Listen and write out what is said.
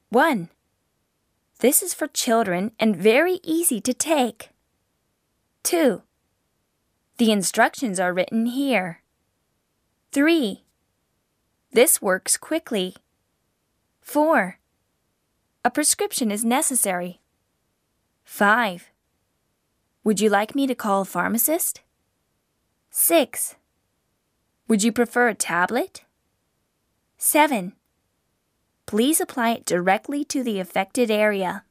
1. This is for children and very easy to take. 2. The instructions are written here. 3. This works quickly. 4. A prescription is necessary. 5. Would you like me to call a pharmacist? 6. Would you prefer a tablet? 7. Please apply it directly to the affected area.